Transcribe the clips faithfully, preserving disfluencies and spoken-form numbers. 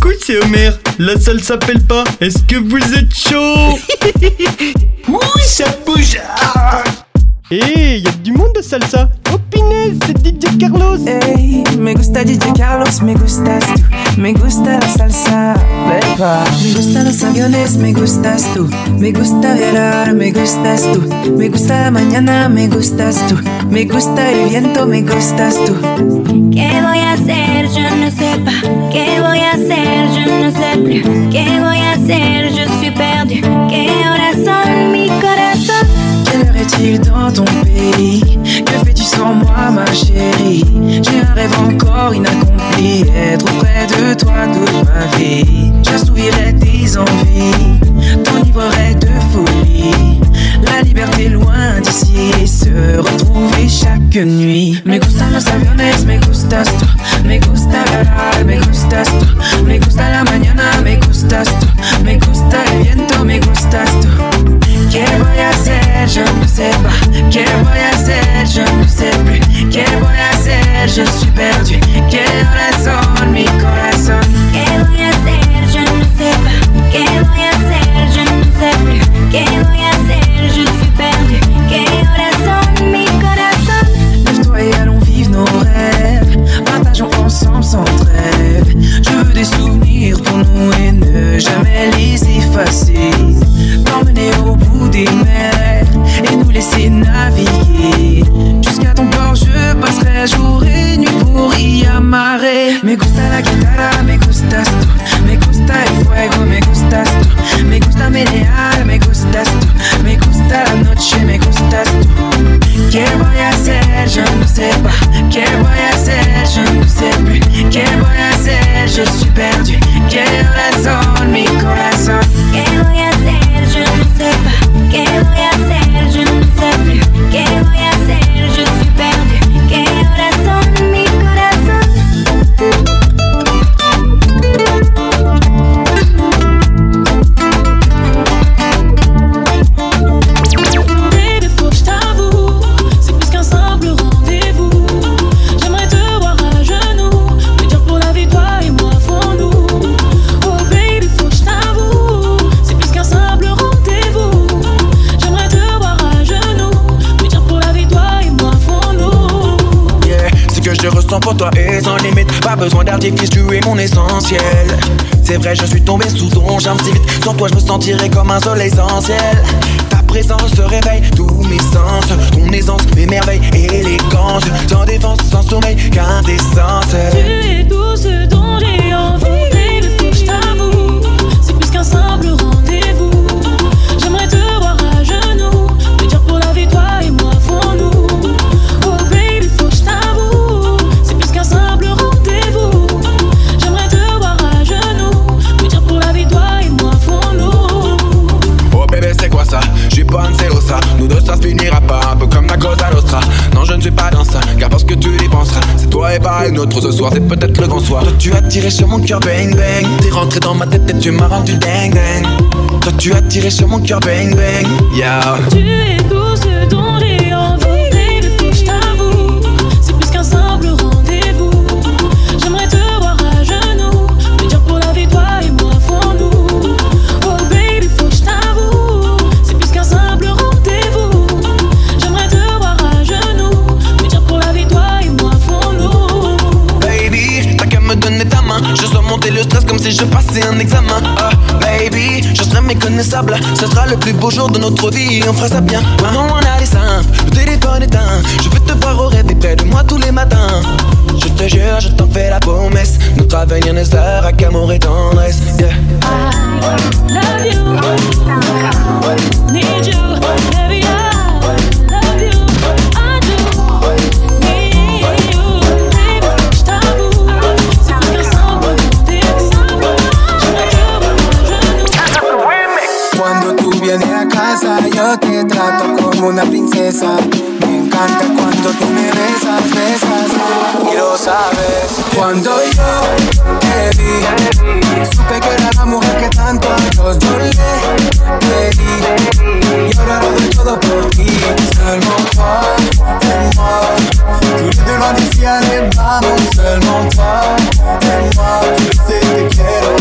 Coucou, c'est Homer. La salle s'appelle pas. Est-ce que vous êtes chaud? Oui, ça bouge. Ah. Hé, hey, y'a du monde de salsa. Oh punaise, c'est D J Carlos. Hey, me gusta D J Carlos, me gustas tú. Me gusta la salsa, beba. Me gustan los aviones, me gustas tú. Me gusta viajar, me gustas tú. Me gusta la mañana, me gustas tú. Me gusta el viento, me gustas tú. ¿Qué voy a hacer? Je ne sais pas. ¿Qué voy a hacer? Je ne sais plus. ¿Qué voy a hacer? Je suis perdu. ¿Qué horas son, mi corazón? Quelle heure est-il dans ton pays? Que fais-tu sans moi, ma chérie? J'ai un rêve encore inaccompli, être auprès de toi toute ma vie. J'assouvirai tes envies, t'enivrerai de folie. La liberté loin d'ici et se retrouver chaque nuit. Me gustan los aviones, me gustas tú. Me gusta viajar, me gustas tú. Me gusta la mañana, me gustas tú. Me gusta el viento, me gustas tú. ¿Qué voy a hacer? Je ne sais pas. ¿Qué voy a hacer? Je ne sais plus. ¿Qué voy a hacer? Je suis perdu. ¿Qué horas son, mi corazón? ¿Qué voy a hacer? Je ne sais pas. ¿Qué voy a hacer? Je ne sais plus. ¿Qué voy a hacer? Je suis perdu. ¿Qué horas son, mi corazón? Lève-toi et allons vivre nos rêves. Partageons ensemble sans trêve. Je veux des souvenirs pour nous et ne jamais les effacer. T'emmener au bout des mers et nous laisser naviguer. Jusqu'à ton port je passerai jour et nuit pour y amarrer. Me gusta la guitarra, me gustas tú. Me gusta el fuego, me gustas tú. Me gusta menear, me gustas tú. Me gusta la noche, me gustas tú. ¿Qué voy a hacer? Je ne sais pas. ¿Qué voy a hacer? Je ne sais plus. ¿Qué voy a hacer? Je suis perdu. ¿Qué razón, mi corazón? ¿Qué voy a hacer? Je ne sais pas. ¿Qué voy a hacer? Je ne sais plus. ¿Qué voy a hacer? Je suis perdu. ¿Qué horas son, mi corazón? Baby, faut que je t'avoue, c'est plus qu'un simple rendez-vous. J'aimerais te voir à genoux, me dire pour la vie toi et moi font-nous. Oh baby, faut que je t'avoue, c'est plus qu'un simple rendez-vous. J'aimerais te voir à genoux, me dire pour la vie toi et moi font-nous. Yeah, ce que je ressens pour toi est sans limite. Pas besoin d'artifice, tu es mon essentiel. C'est vrai, je suis tombé sous ton charme si vite. Sans toi, je me sentirais comme un soleil essentiel. Ta présence réveille tous mes sens. Ton aisance, mes merveilles, élégance. Sans défense, sans sommeil, quintessence. Tu es tout ce dont j'ai envie. Baby, faut que je t'avoue, c'est plus qu'un simple rendez-vous. J'aimerais te voir à genoux, me dire pour la vie toi et moi font-nous. Oh baby, faut que je t'avoue, c'est plus qu'un simple rendez-vous. J'aimerais te voir à genoux, me dire pour la vie toi et moi font-nous. Oh bébé, c'est quoi ça? J'suis pas un celosa. Nous deux, ça se finira pas un peu comme la Cosa Nostra. Non, je ne suis pas dans ça, car parce que tu y penseras. C'est toi et pas une autre ce soir, c'est peut-être le grand soir. Toi, tu as tiré sur mon cœur, bang bang. T'es rentré dans ma tête et tu m'as rendu ding ding. Toi, tu as tiré sur mon cœur, bang bang. Yeah. Tu es tout ce dont j'ai envie. Baby, faut que je t'avoue, c'est plus qu'un simple rendez-vous. J'aimerais te voir à genoux, me dire pour la vie toi et moi font-nous. Oh baby, faut que je t'avoue, c'est plus qu'un simple rendez-vous. J'aimerais te voir à genoux, me dire pour la vie toi et moi font-nous. Baby, t'as qu'à me donner ta main. Je sens monter le stress comme si je passais un examen. Ah, baby, je serai méconnaissable. Ce sera le plus beau jour de notre vie, on fera ça bien. Maintenant on a les simples, le téléphone éteint. Je veux te voir au rêve et près de moi tous les matins. Je te jure, je t'en fais la promesse. Notre avenir ne sera qu'amour et tendresse. Yeah. I love you, need you, baby, I love you, I do, need you, baby, faut que je t'avoue, c'est plus qu'un simple rendez-vous, j'aimerais te voir à genoux. Cuando tú vienes a casa yo te trato como una princesa. Me encanta cuando tú me besas, besas y lo sabes. Cuando yo te vi, supe que era la mujer que tanto a Dios yo le pedí. Y ahora lo doy todo por ti. Seulement toi et moi. Tous les deux loin d'ici, allez vamos. Seulement toi et moi. Tu le sais, te quiero.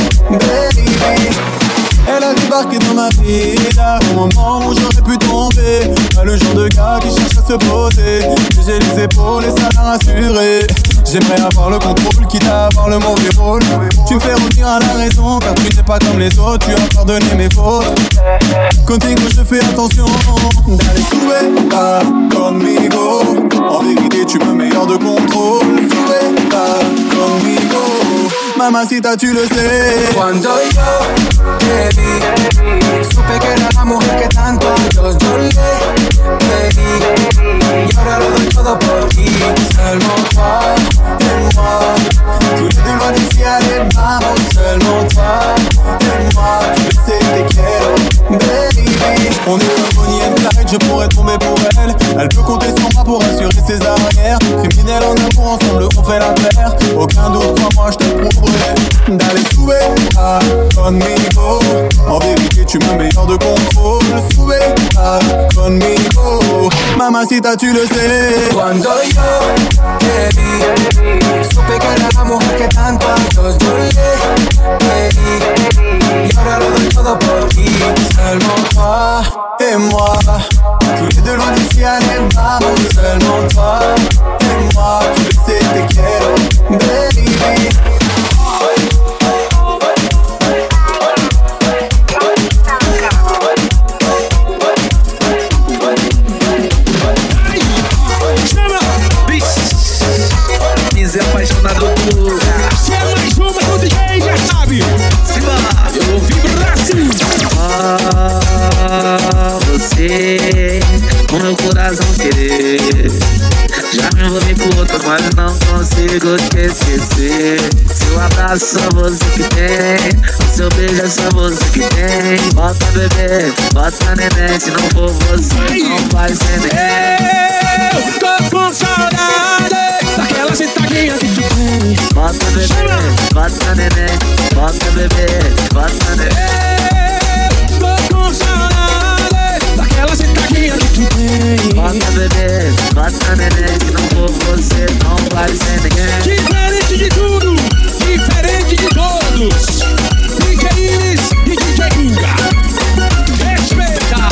J'aimerais avoir le contrôle, quitte à avoir le mauvais rôle. Tu me fais revenir à la raison, car tu n'es pas comme les autres. Tu as pardonné mes fautes. Contigo, je fais attention. Dale, sube, va conmigo. En vérité, tu me mets hors de contrôle. Sube, va conmigo. Mamacita, tu le sais. Cuando yo te vi, supe que era la mujer que tanto yo, yo le pedí. Y ahora lo doy todo por ti. Seulement toi et moi. Tous les deux loin d'ici, allez, vamos. Seulement toi et moi. Tu le sais, te quiero, baby. On est comme Bonnie and Clyde, je pourrais tomber pour elle. Elle peut compter sur moi pour assurer ses arrières. Criminel en amour, ensemble on fait la paire. Aucun doute, crois-moi, je te prouverai. D'aller souer à conmigo. En vérité, tu me mets hors de contrôle. Souer à conmigo. Mamacita, tu le sais. Cuando yo te vi, supe que era la mujer que tanto yo, yo le pedí. Y ahora lo doy todo por ti. Seulement toi et moi. Tous les deux loin d'ici, allez, vamos. Seulement toi et moi. Tu le sais, te quiero, baby. É apaixonado por lugar. Se é mais uma do D J, já sabe. Eu ouvi Brasil. Ah, você, com meu coração querer. Já me envolvi com outro, mas não consigo te esquecer. Seu abraço só você que tem, seu beijo é só você que tem. Bota bebê, bota neném, se não for você, não vai ser neném. Eu tô com saudade daquela sentadinha que tu tem. Bota bebê, bota neném, bota bebê, bota neném. Tô com saudade daquela sentadinha que tu tem. Bota bebê, bota neném, se não for você, não vai ser ninguém. Diferente de tudo, diferente de todos. D J Iris e D J Guga. Respeita,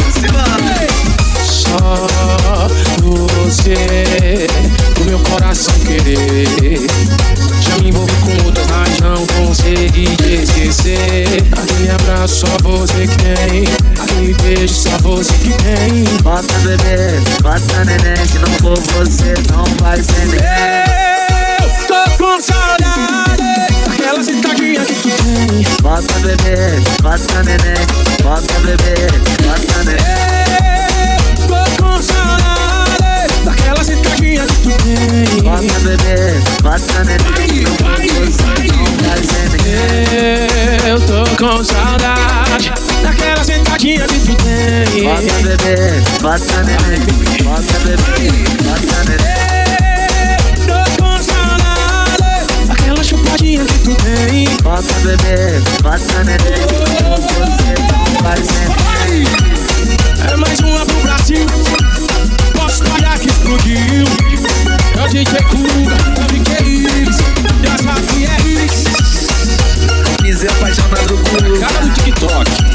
só você, o meu coração querer. Já me envolvi com outras, mas não consegui te esquecer. Aquele abraço só você que tem, aquele beijo só você que tem. Bota bebê, bota neném, se não for você, não vai ser ninguém. Eu tô com saudade daquela sentadinha que tu tem. Bota bebê, bota neném, bota bebê, bota neném. Tô com saudade daquela sentadinha que tu tem. Bota bebê, bota neném, não for você, não vai ser ninguém. Eu tô com saudade daquela sentadinha que tu tem. Bota bebê, bota neném, bota bebê, bota neném. Tô com saudade daquela chupadinha que tu tem. Bota bebê, bota neném, não for você, não vai ser ninguém. É mais uma pro Brasil. Posso parar que explodiu. É o D J Guga, é o D J Iris. Já sabe que é Iris. Dizer apaixonado por lugar. Cara do TikTok.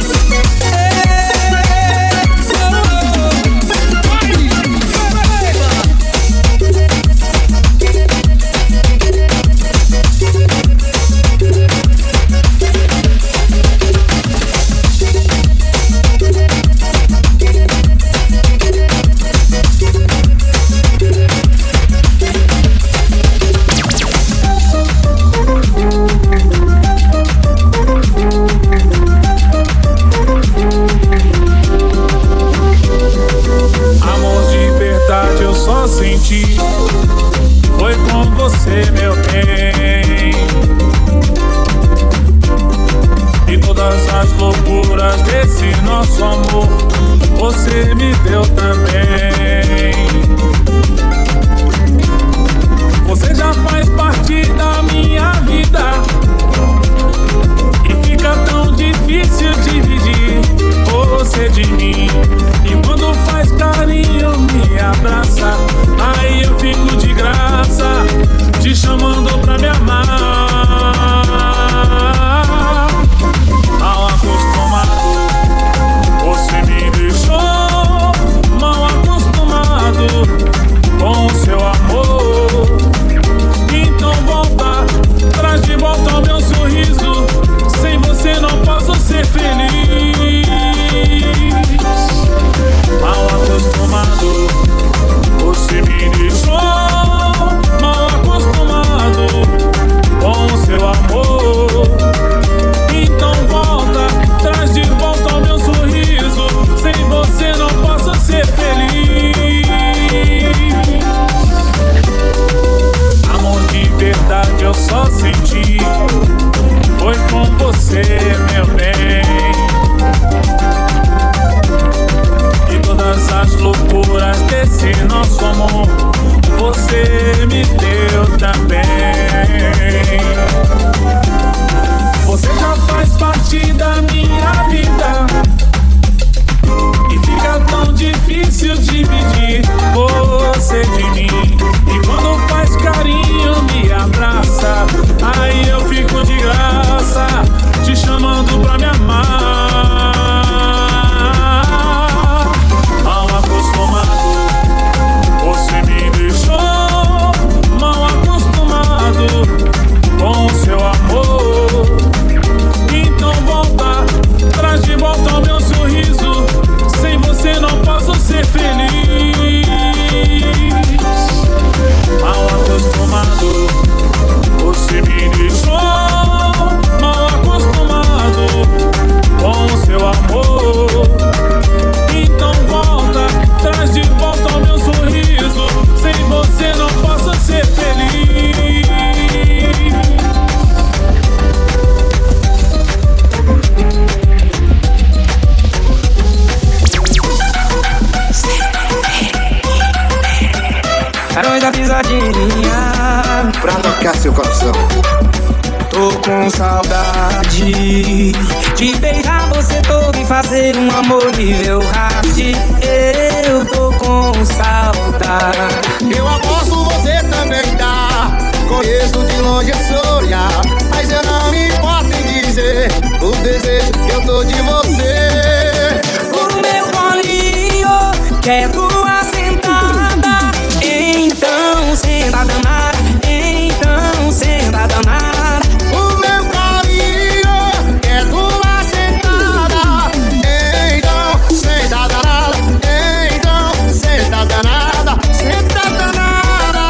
senti foi com você, meu bem. E todas as loucuras desse nosso amor você me deu também. Você já faz parte da minha vida e fica tão difícil dividir você de mim. E quando faz carinho, me abraça, aí eu fico de graça, te chamando pra me amar. Mal acostumado, você me deixou mal acostumado com o seu amor. Então volta, traz de volta o meu sorriso. Sem você não posso ser feliz. Mal acostumado, você me deixou mal acostumado com o seu amor. Então volta, traz de volta o meu sorriso. Sem você não posso ser feliz. Carões da pisadinha pra tocar seu coração. Tô com saudade de beijar você todo e fazer um amor nível hard. Eu tô com saudade. Eu aposto você também tá. Conheço de longe esse olhar, mas eu não me importo em dizer o desejo que eu tô de você. O meu colinho quer tua sentada. Então senta danada, então senta danada. O meu carinho é tua sentada. Então senta danada, então senta danada, senta danada.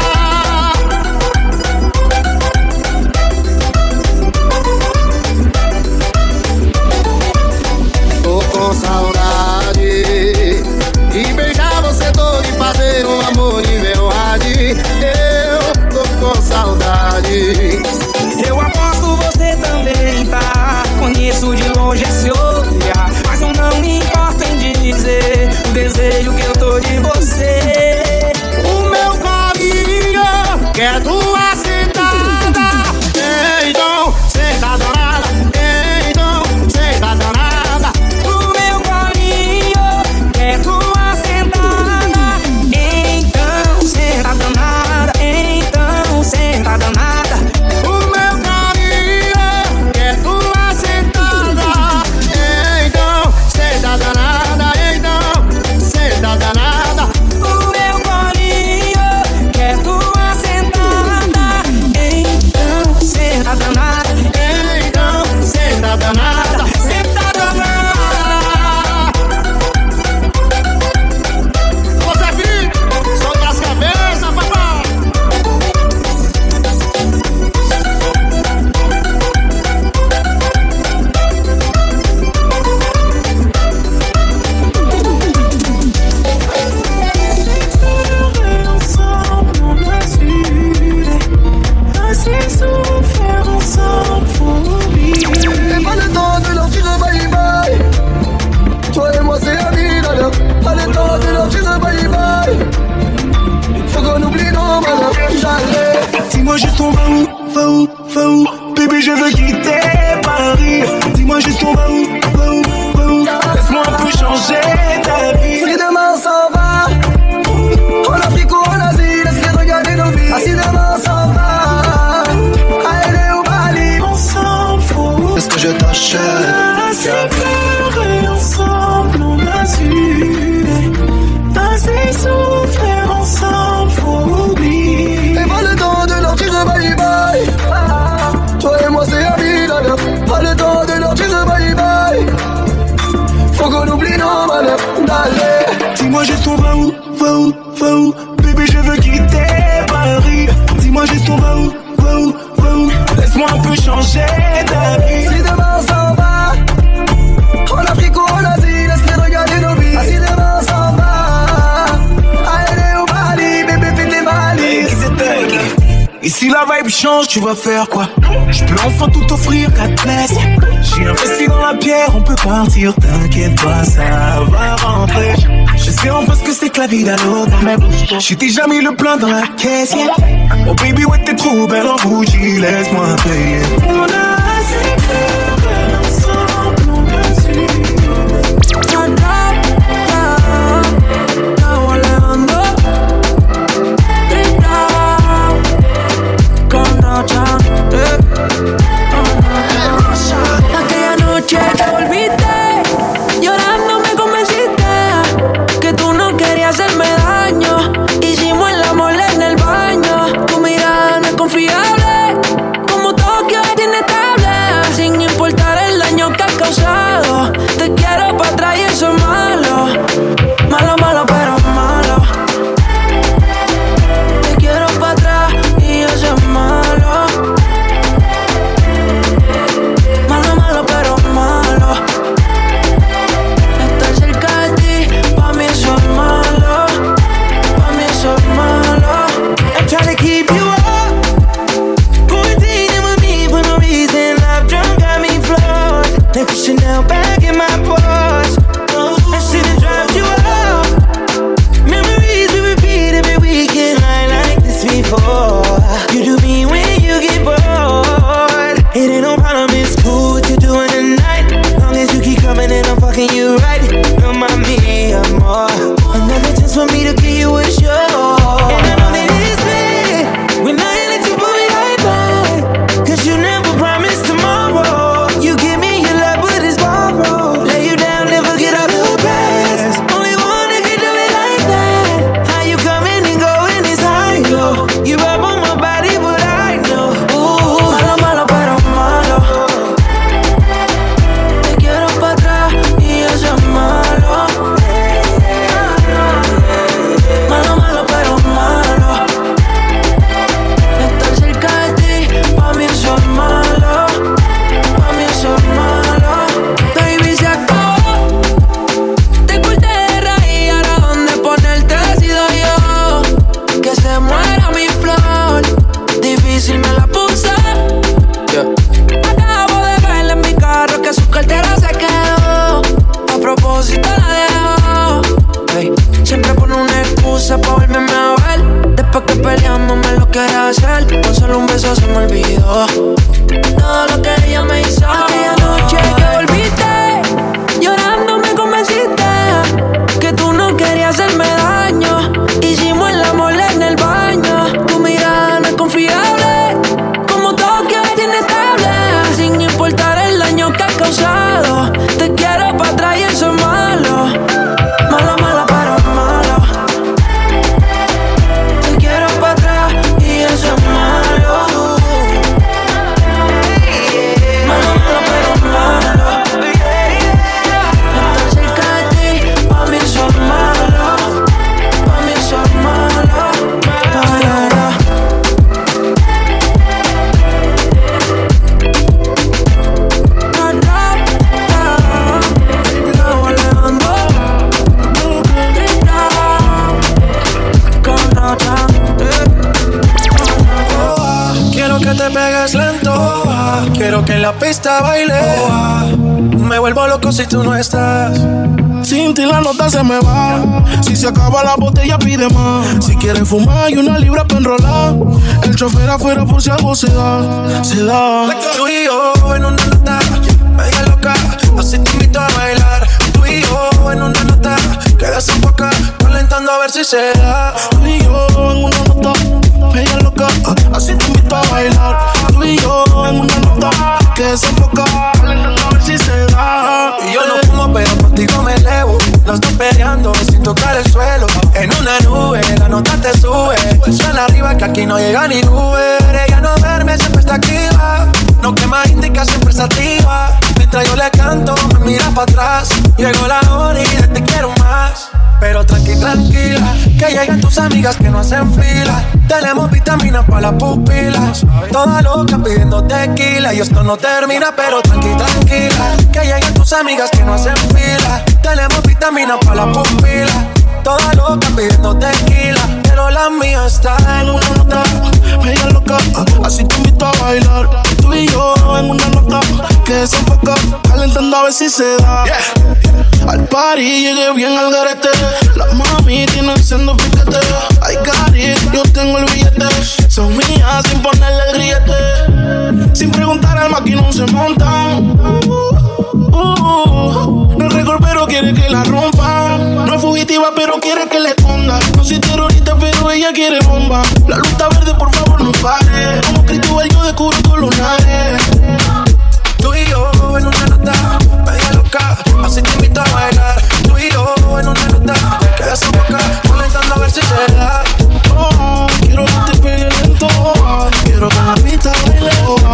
Tô com saudade de beijar você todo e fazer um amor nível hard. Eu tô com saudade. Eu aposto você também tá. Conheço de longe esse olhar, mas eu não me importo em dizer o desejo que eu tô de você. O meu carinho quer tua sentada. Então senta danada, então senta danada. O meu carinho quer tua sentada. Então senta danada, então senta danada. O meu carinho quer tua sentada. Então senta danada, então senta danada. O meu carinho quer tua sentada. Então senta danada, então senta danada, senta danada. Você filho, solta as cabeças, papai. Ensemble, on a su assez souffert ensemble, faut oublier. Et pas le temps de leur dire bye bye. Toi et moi c'est la vie d'ailleurs. Pas le temps de leur dire bye bye. Faut qu'on oublie nos malheurs, jamais. Dis-moi juste on va où, va où, va où. Bébé je veux quitter Paris. Dis-moi juste on va où, va où, va où. Laisse-moi un peu changer ta vie. Si demain on s'en va, en Afrique ou en Asie, laisse-les regarder nos vies. Ah si demain on s'en va, à L A ou Bali, Ensemble, faut est-ce que je t'achète? assez pleurer ensemble, on a su assez souffrir ensemble, faut oublier. Et pas le temps de leur dire bye bye. Toi et moi c'est la vie d'ailleurs. Pas le temps de leur dire bye bye. Faut qu'on oublie nos malheurs, d'aller. Dis-moi juste on va où, va où, va où. Bébé je veux quitter Paris. Dis-moi juste on va où, va où, va où. Laisse-moi un peu changer ta vie. Si demain on s'en va, en Afrique ou en Asie, laisse-les regarder nos vies. Ah si demain on s'en va, à L A ou Bali, bébé fais tes valises. Ici la vibe change, tu vas faire quoi? Je peux enfin tout offrir, quatre pièces. J'ai investi dans la pierre, on peut partir, t'inquiète pas, ça va rentrer. Je sais enfin ce que c'est que la vie d'aloca. J'ai déjà mis le plein dans la caisse, yeah. Oh baby, ouais, t'es trop belle en bougie, laisse-moi payer. On a assez de ensemble, on va suivre. Aquella noche que volviste, llorando me convenciste que tú no querías hacerme daño. Hicimos el amor en el baño. Tu mirada no es confiable, como Tokio es inestable. Sin importar el daño que has causado, te quiero pa' atrás y eso es malo. Malo, malo, pero malo. Te quiero pa' atrás y eso es malo. Malo, malo, pero malo. Estar cerca de ti, pa' mí eso es malo. Pa' mí eso es malo. I'm trying to keep you up, quarantining with me for no reason. I've drunk, got me flawed. Left Chanel back in my Porsche. I should've dropped you off. Memories we repeat every weekend. I like this before. You do me when you get bored. It ain't no problem, it's cool what you're doing tonight. Long as you keep coming and I'm fucking you right. No mami, amor. Another chance for me to give you a show. And I know that it's bad when I let you put me right back. Cause you never promised tomorrow. You give me your love but it's borrowed. Lay you down, never get out the past. Only one that can do it like that. How you coming and going is high, yo. You rub on my body but I know. Ooh, malo, malo, pero malo. Te quiero pa' atrás y eso es malo. Malo, malo, pero malo. Estar cerca de ti, pa' mí eso es malo. Pa' mí eso es malo. Baby, se acabó. Te corté de raíz, ahora dónde ponerte decido yo. Que se muera mi flor, difícil me la puse. Acabo de verla en mi carro que su cartera se quedó. A propósito la dejó. Hey, siempre pone una excusa pa' volverme a ver. Después que peleamos me lo quiere hacer. Con solo un beso se me olvidó todo lo que ella me hizo. Aquella noche que volviste, llorando me convenciste que tú no querías hacerme daño. Hicimos el amor en el baño. Tu mirada no es confiable, como Tokio es inestable. Sin importar el daño que has causado, te quiero pa' atrás y eso es malo. Malo, malo, pero malo. Te quiero pa' atrás y eso es malo. Malo, malo, pero malo. Estar cerca de ti, pa' mí eso es malo. Pa' mí eso es malo. Malo. Quiero que te pegues lento. Quiero que en la pista baile. Me vuelvo loco si tú no estás. Sin ti la nota se me va. Si se acaba la botella pide más. Si quieres fumar y una libra pa' enrolar. El chofer afuera por si algo se da. Se da. Tú y yo en una nota media loca, así te invito a bailar. Tú y yo en una nota que desemboca, calentando a ver si se da. Tú y yo en una nota media loca, así te invito a bailar. Tú y yo en una nota que desemboca, calentando a ver si se da. Y yo no fumo pero contigo me elevo. Los dos peleando sin tocar el suelo. En una nube la nota te sube. Suena arriba que aquí no llega ni Uber. Ella no duerme, siempre está activa. No quema indica, siempre está activa. Mientras yo le canto, me mira para atrás. Llegó la hora y de te quiero más. Pero tranqui, tranquila, que lleguen tus amigas que no hacen fila. Tenemos vitaminas para las pupilas. Toda loca pidiendo tequila. Y esto no termina, pero tranqui, tranquila, que lleguen tus amigas que no hacen fila. Tenemos vitaminas para las pupilas. Toda loca pidiendo tequila. Pero pero la mía está en una nota media loca. Así te invito a bailar, tú y yo en una nota que desenfoca, calentando a ver si se da. Yeah. Al party llegué bien al garete, la mami tiene siendo piquete. Ay, cari, yo tengo el billete, son mías sin ponerle el grillete. Sin preguntar al maquinón se montan. Uh, uh, no es récord pero quiere que la rompa. No es fugitiva pero quiere que le esconda. No soy terrorista pero ella quiere bomba. La luz está verde, por favor no pare. Como Cristóbal yo descubro tus lunares. Tú y yo en una nota media loca, así te invito a bailar. Tú y yo en una nota que desemboca, calentando a ver si se da. Oh, quiero que te pegue lento, quiero que la pista baile.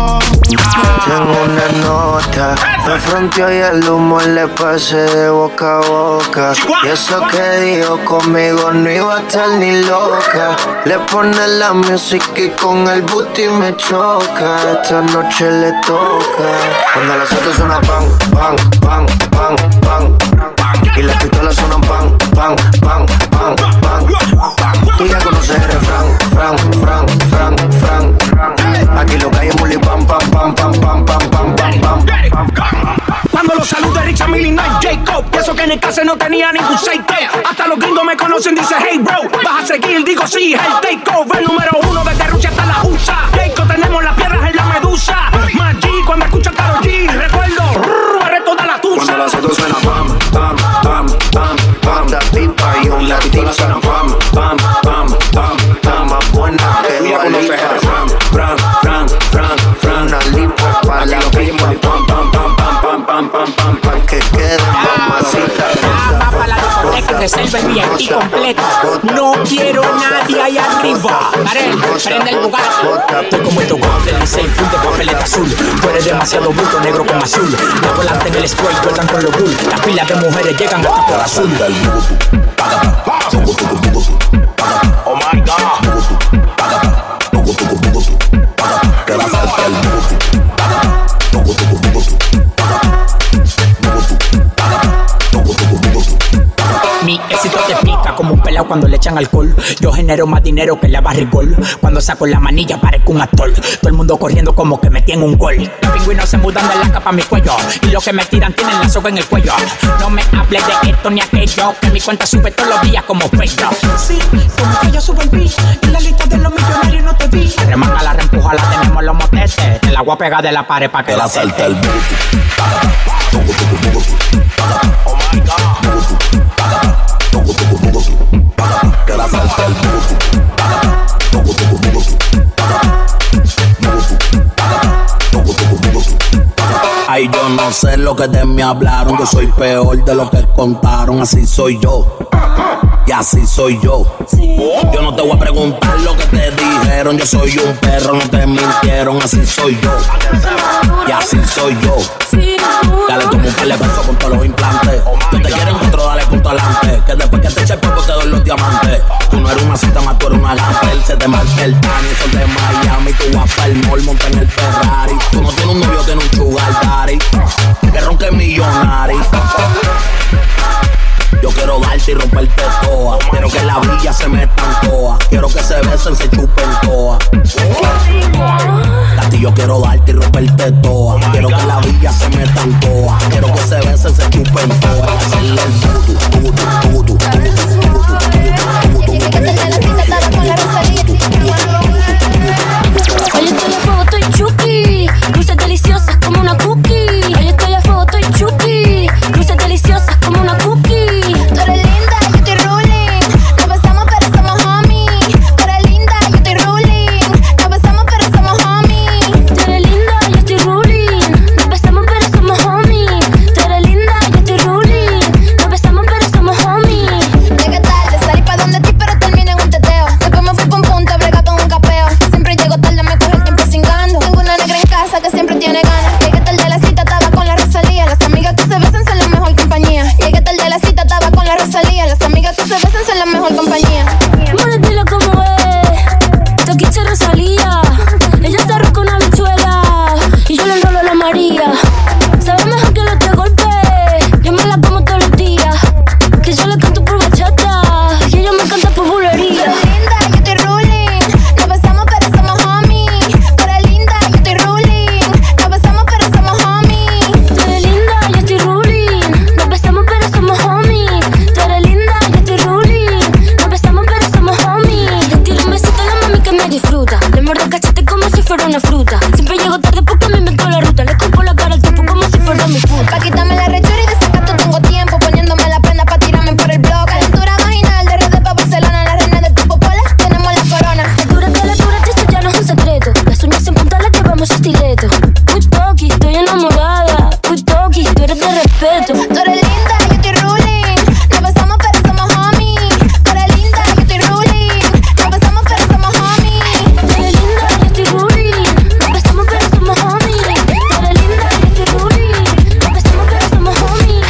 Tengo una nota, me fronteó y el humo le pasé de boca a boca. Y eso que dijo conmigo no iba a estar ni loca. Le pone la música y con el booty me choca. Esta noche le toca. Cuando las autos suenan pan, pan, pan, pan, pan, y las pistolas suenan pan, pan, pan, pan, pan. Tú ya conoces el refrán, fran, fran, fran, fran. Aquí lo que hay es muli pam, pam, pam, pam, pam, pam, pam, pam, pam. Cuando los saluda Richard Millie no es Jacob. Y eso que en el caso no tenía ningún seito. Hasta los gringos me conocen, dice hey bro. Vas a seguir, digo sí, el takeover. El número uno desde Rusia hasta la U S A. Jacob, tenemos las piedras en la medusa. Maggi, cuando escucho Karol G, recuerdo, barré toda la tusa. Cuando las autos suenan pam, pam, pam, pam, pam. La pipa y un latino suenan pam, pam, pam, pam, pam. Más buena que Dua Lipa. Fran, fran, fran, fran, fran. Una lipa para la pipa. Pam, pam, pam, pam, pam, pam, pam, pam. Pa' que quede mamacita. Va para la discoteca y reserva el V I P completo. No quiero nadie ahí arriba. Darel, prende el lugar. Estoy como el tocón del Licey, full de papeleta azul. Tú eres demasiado bruto, negro como azul. La volante en el spray, juegan con los bull. Las pilas de mujeres llegan hasta por azul. Oh my God. Te va a faltar el Mi éxito te pica como un pelao cuando le echan alcohol. Yo genero más dinero que la barrigol. Cuando saco la manilla parezco un actor. Todo el mundo corriendo como que me tiene un gol. Los pingüinos se mudan de la capa a mi cuello. Y los que me tiran tienen la soga en el cuello. No me hables de esto ni aquello, que mi cuenta sube todos los días como Facebook. Sí, como que yo subo el beat. En la lista de los millonarios no te vi. Remanga la reempuja, la tenemos los motetes. Te la voy a pegar de la pared pa' que la salte el beat. Oh my God. Te va a faltar el Ay, yo no sé lo que de mí hablaron. Yo soy peor de lo que contaron. Así soy yo, y así soy yo. Yo no te voy a preguntar lo que te dijeron. Yo soy un perro, no te mintieron. Así soy yo, y así soy yo. Dale como un par de besos con todos los implantes. Yo te quiero encontrar, dale punto adelante. Que después que te eche el poco te doy los diamantes. Tú no eres una cita más, tú eres una gafel. Se te marca el tan, sol de Miami. Tú vas para el mall, monta en el Ferrari. Tú no tienes un novio, tienes un sugar daddy. Que ronque millonario. Yo quiero darte y romperte toa. Quiero que la villa se meta en toa. Quiero que se besen, se chupen toa. Cati, yo quiero darte y romperte toa. Quiero que la villa se meta en toa. Quiero que se besen, se chupen toa. Y hacerle el tutu, tutu, tutu, tutu, Hoy estoy a fuego, estoy chuki. Cruces deliciosas como una cookie. Hoy estoy a fuego, estoy chuki. Cruces deliciosas como una cookie. Tú eres linda, yo estoy ruling. No besamos pero somos homies. Tú eres linda, yo estoy ruling. No besamos pero somos homies. Tú eres linda, yo estoy ruling. No besamos pero somos homies. Tú eres linda, yo estoy ruling. No besamos pero somos homies. secreto. Uy, Toki, estoy enamorada. Uy, Toki, tú eres de respeto. Tú eres linda, yo estoy ruling. No besamos, pero somos homies. Tú eres linda, yo estoy ruling. No besamos, pero somos homies. Tú eres linda, yo estoy ruling. No besamos, pero somos homies. Tú eres linda, yo estoy ruling. No besamos, pero somos homies.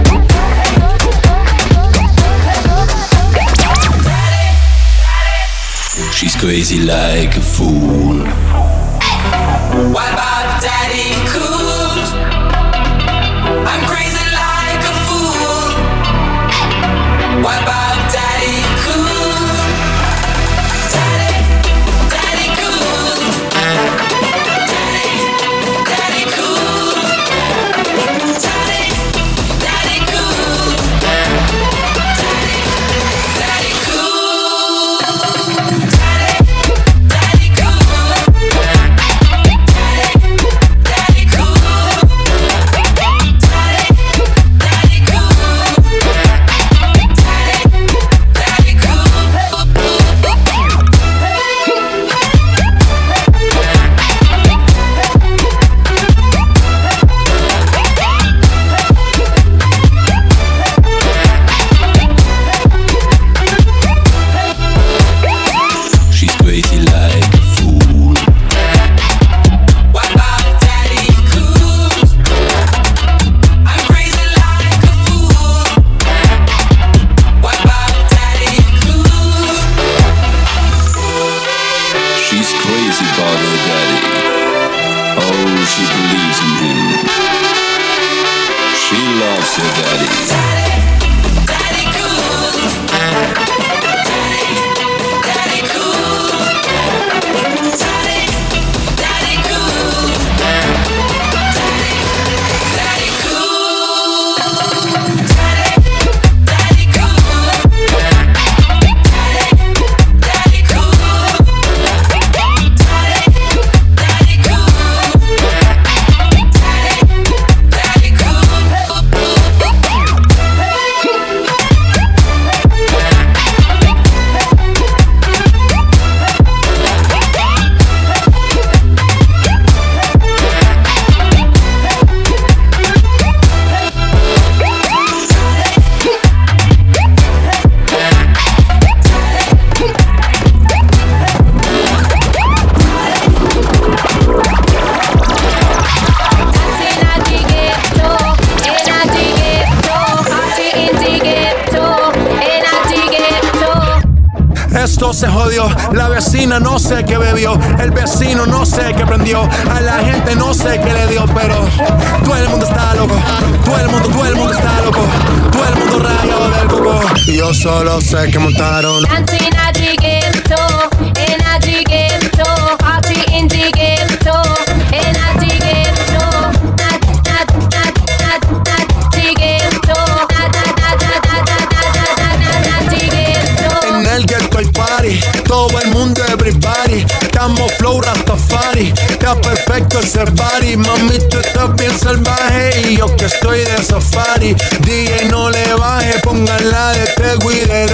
She's crazy like a fool. What about Daddy Cool? I'm crazy like a fool. What about Daddy Cool? Daddy, Daddy Cool. Daddy, Daddy Cool. Daddy, Daddy Cool. Daddy, Daddy Cool. Esto se jodió, la vecina no sé qué bebió, el vecino no sé qué prendió, a la gente no sé qué le dio, pero todo el mundo está loco, todo el mundo, todo el mundo está loco, todo el mundo rayado del coco. Y yo solo sé que montaron Dancing at the ghetto, in at the ghetto, party in the ghetto, in at the ghetto, at at at at at the ghetto, at at at at at at the ghetto. En el ghetto hay party, todo el mundo everybody, estamos flow Rastafari, está perfecto ese party, mami tú estás bien salvaje y yo que estoy de safari, D J no le baje, pónganla de Tego y de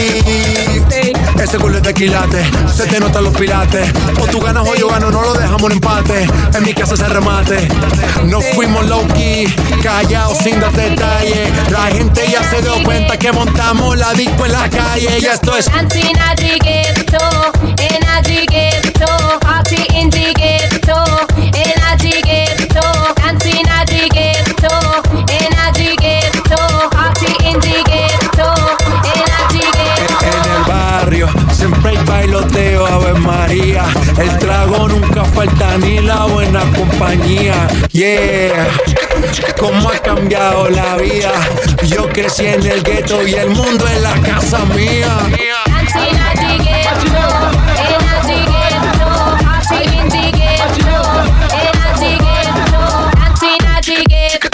Daddy. Ese culo es de quilate, se te notan los pilates, o tú ganas o yo gano, no lo dejamos en empate, en mi casa se remate, no fuimos low key, callados sin dar detalles, la gente ya se dio cuenta que montamos la disco en la calle y esto es Dancing at the ghetto, in at the ghetto, party in the ghetto, in at the ghetto, dancing at the ghetto, in at the ghetto, party in the ghetto, in at the ghetto. En el barrio siempre hay bailoteo, Ave María, el trago nunca falta ni la buena compañía, yeah. Cómo ha cambiado la vida, yo crecí en el ghetto y el mundo es la casa mía. Dancing at the ghetto, in at the ghetto, party in the ghetto, in at the ghetto, dancing at the ghetto,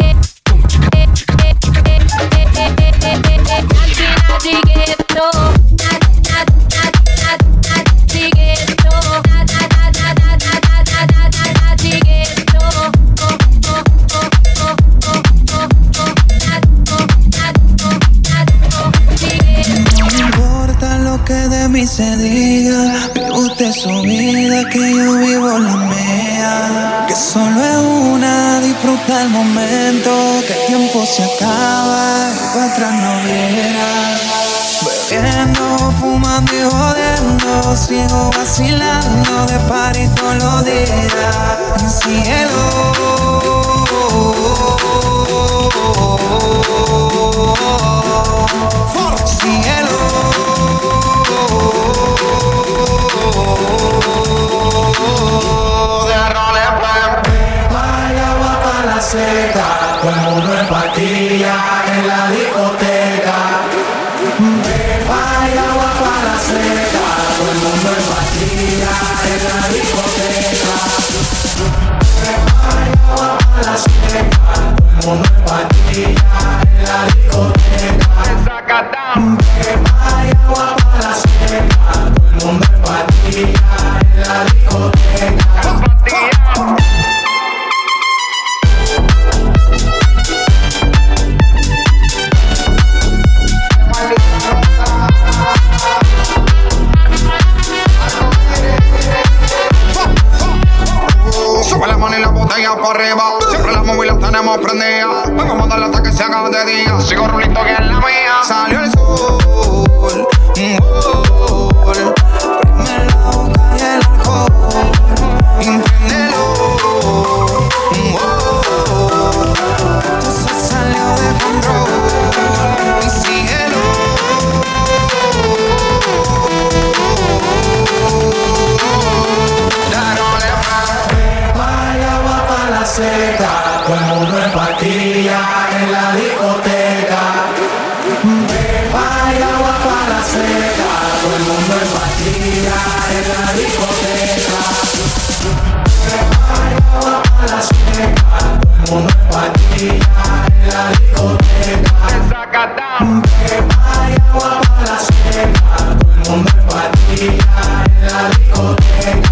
dancing at the ghetto, at at at at at the ghetto, at at at at at at at the ghetto. No importa lo que de mí se diga, vive usted su vida, que yo vivo la mía. Solo es una, disfruta el momento, que el tiempo se acaba y para atrás no viera. Bebiendo, fumando y jodiendo, sigo vacilando de party todos los días. Mi cielo, cielo. Vaya agua para la seca, todo el mundo en patilla en la discoteca. Vaya agua para la seca, todo el mundo en patilla en la discoteca. Vaya agua para la seca, todo el mundo en patilla en la discoteca. Vaya agua para la seca, todo el mundo en patilla en la discoteca. Sube la mano y la botella por arriba. Siempre las móviles tenemos prendidas. Vengo a mandarle hasta que se haga de día. Sigo rulito que es la mía. Salió el sol, un gol. Prime la boca y el alcohol. Impréndelo, un gol. Esto se salió de control. Y síguelo. Seca, todo el mundo en patilla en la discoteca. Vaya agua para la seca, todo el mundo en patilla en la discoteca. Vaya agua para la seca, todo el mundo en patilla en la discoteca. Vaya agua para la seca, todo el mundo en patilla en la discoteca.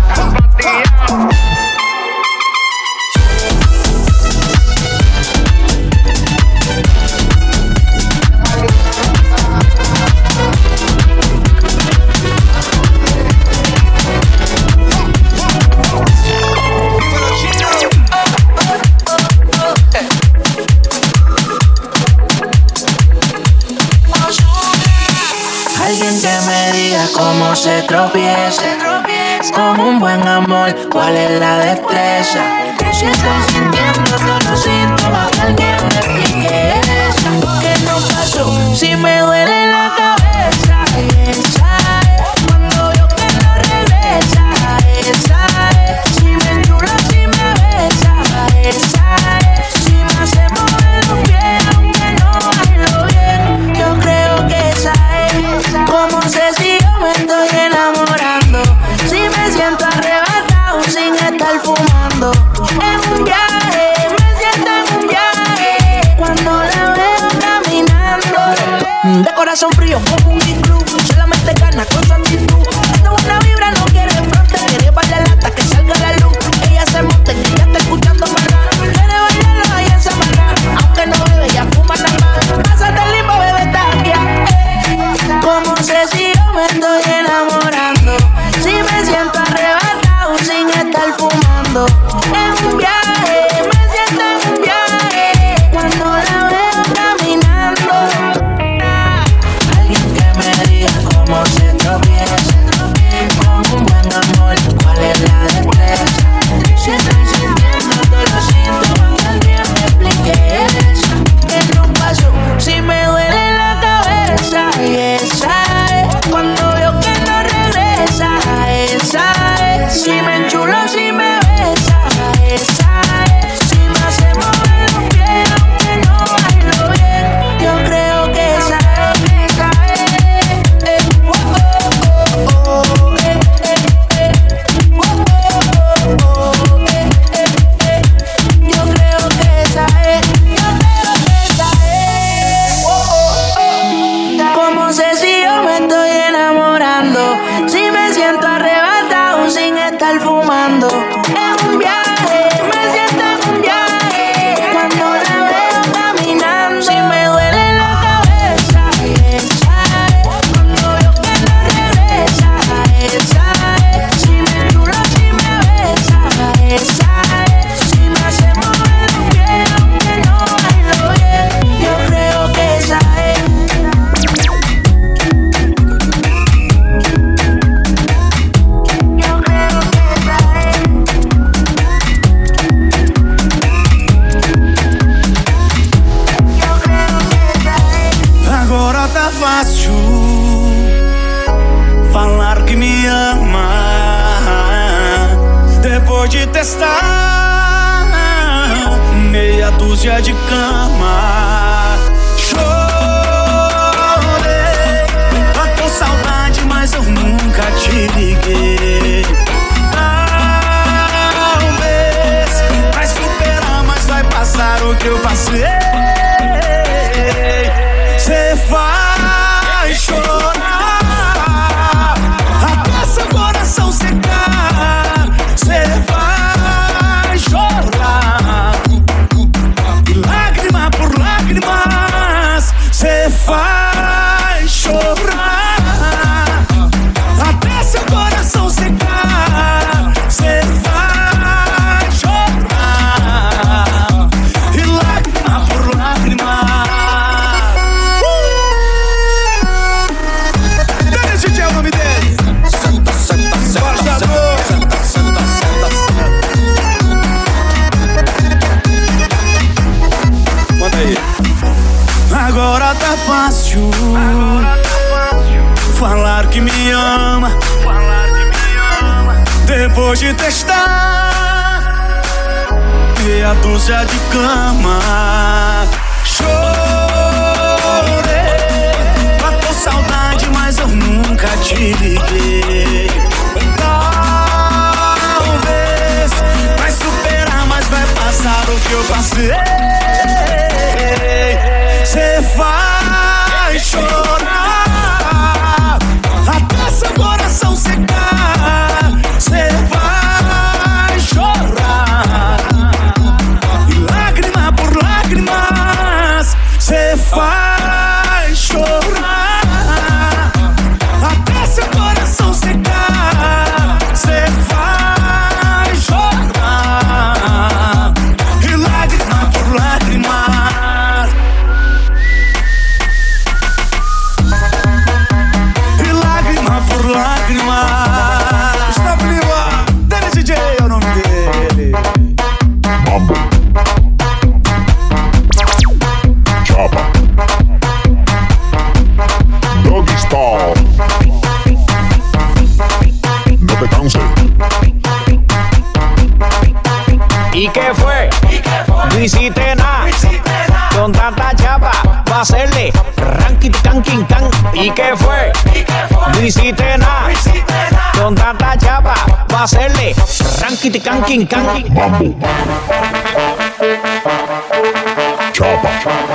Alguien que me diga cómo se tropieza con un buen amor, cuál es la destreza. Si estoy sintiendo todos los síntomas, que alguien me explique eso. ¿Qué no pasó? Si me duele la cabeza, esa es. Cuando yo que no regresa, esa es. Si me enchula, si me besa, esa es. Si me hace mover los pies, aunque no bailo bien, yo creo que esa es. ¿Cómo sé si yo me estoy enamorando? Si me siento arrebatado sin estar fumando. En un viaje dia de cama. Chorei, tô com saudade, mas eu nunca te liguei. Talvez vai superar, mas vai passar o que eu passei. Cê vai chorar até seu coração secar. Cê vai chorar e lágrima por lágrimas. Cê vai chorar até seu coração secar. Cê vai chorar e lágrima por lágrima. Dennis D J é o nome dele. Senta, senta, senta, senta, senta, senta, senta. Manda aí. Agora tá fácil falar que me ama. Depois de testar meia dúzia de cama. Chorei, matou saudade, mas eu nunca te liguei. Talvez vai superar, mas vai passar o que eu passei. Cê vai chorar até seu coração secar. Cê vai chorar e lágrima por lágrimas. Cê vai chorar até seu coração secar. Cê vai chorar e lágrima por lágrimas. E lágrima por lágrima. Está viva, Dennis D J é o nome dele. Mambo, Chapa, Doggy Style. No te canses. ¿Y qué fue? No hiciste nada. Con tanta chapa va a hacerle ranking canking can. ¿Y qué fue? No hiciste nada. Con tanta chapa va a hacerle ranking canking can. Mambo, Chapa,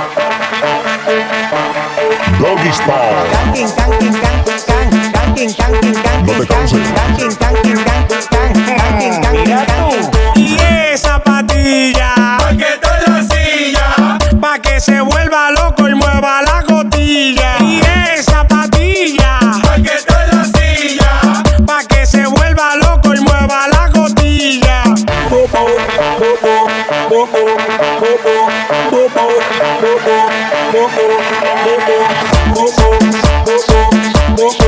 Doggy Style. Canking canking can can canking canking can. No te canses. Canking canking can can canking canking can. Y esa patilla, pa' que te la silla, pa' que se vuelva loco y mueva la cotilla. Y esa patilla, pa' que te la silla, pa' que se vuelva loco y mueva la cotilla. Popo, popo, popo, popo, popo, popo, popo, popo, popo,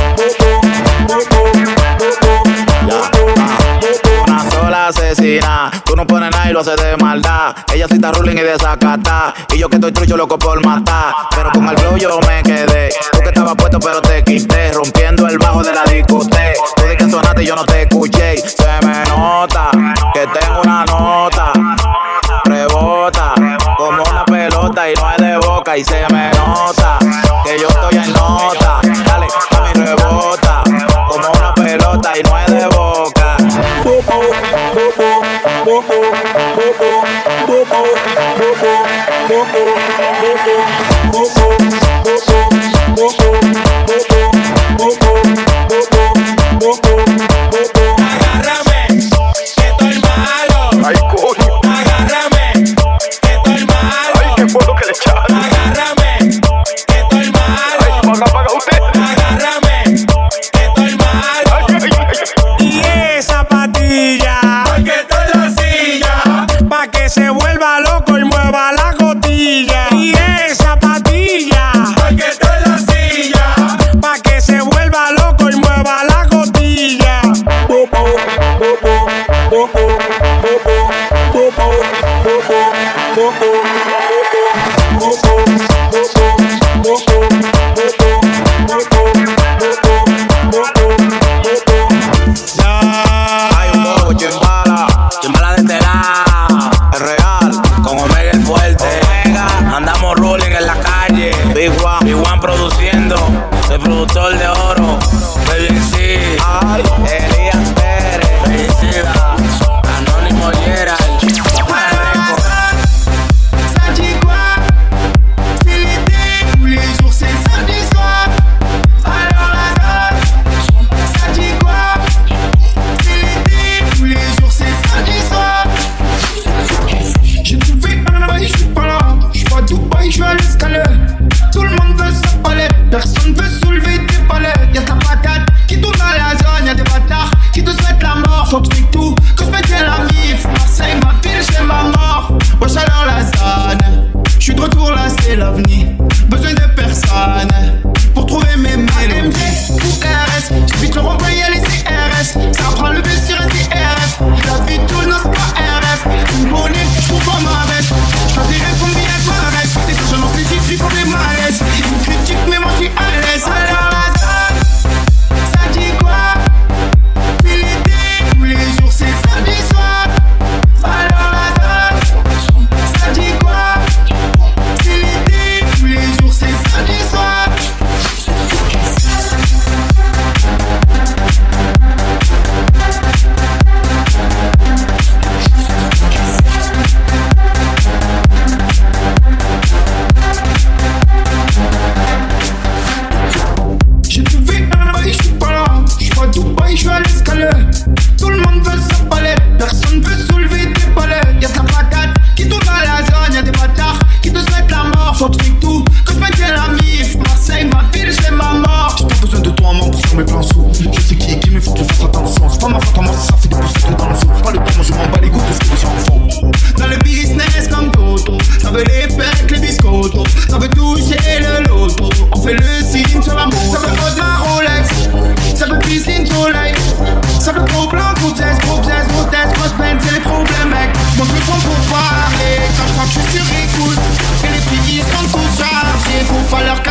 Una sola asesina, tú no pones nada y lo haces de maldad. Ella sí está ruling y desacata, y yo que estoy trucho loco por matar. Pero con el flow yo me quedé, tú que estabas puesto pero te quité, rompiendo el bajo de la discoteca. Tú di que sonaste y yo no te escuché. Se me nota que tengo una nota, rebota como una pelota y no es de boca. Y se me nota que yo estoy en nota, dale, a mi rebota como una pelota y no es de boca. Popo, popo, popo, popo, popo, popo, popo, popo, popo, popo, popo, popo. Agárrame, que estoy malo. Ay, coño. Agárrame, que estoy malo. Ay, ¿qué fue lo que le echaron? Agárrame, que estoy malo. Ay, paga, paga usted. Agárrame, que estoy malo. Ay, ay, ay, ay. Y esa patilla, pa' que te la silla, pa' que se vuelva loco y mueva la cotilla. Y esa patilla, pa' que te la silla, pa' que se vuelva loco y mueva la cotilla. Popo, popo, popo, popo, popo, popo, popo, popo, popo, Hay un bobo chimbala, chimbala de este lado, es real, como Omega el fuego. falloir que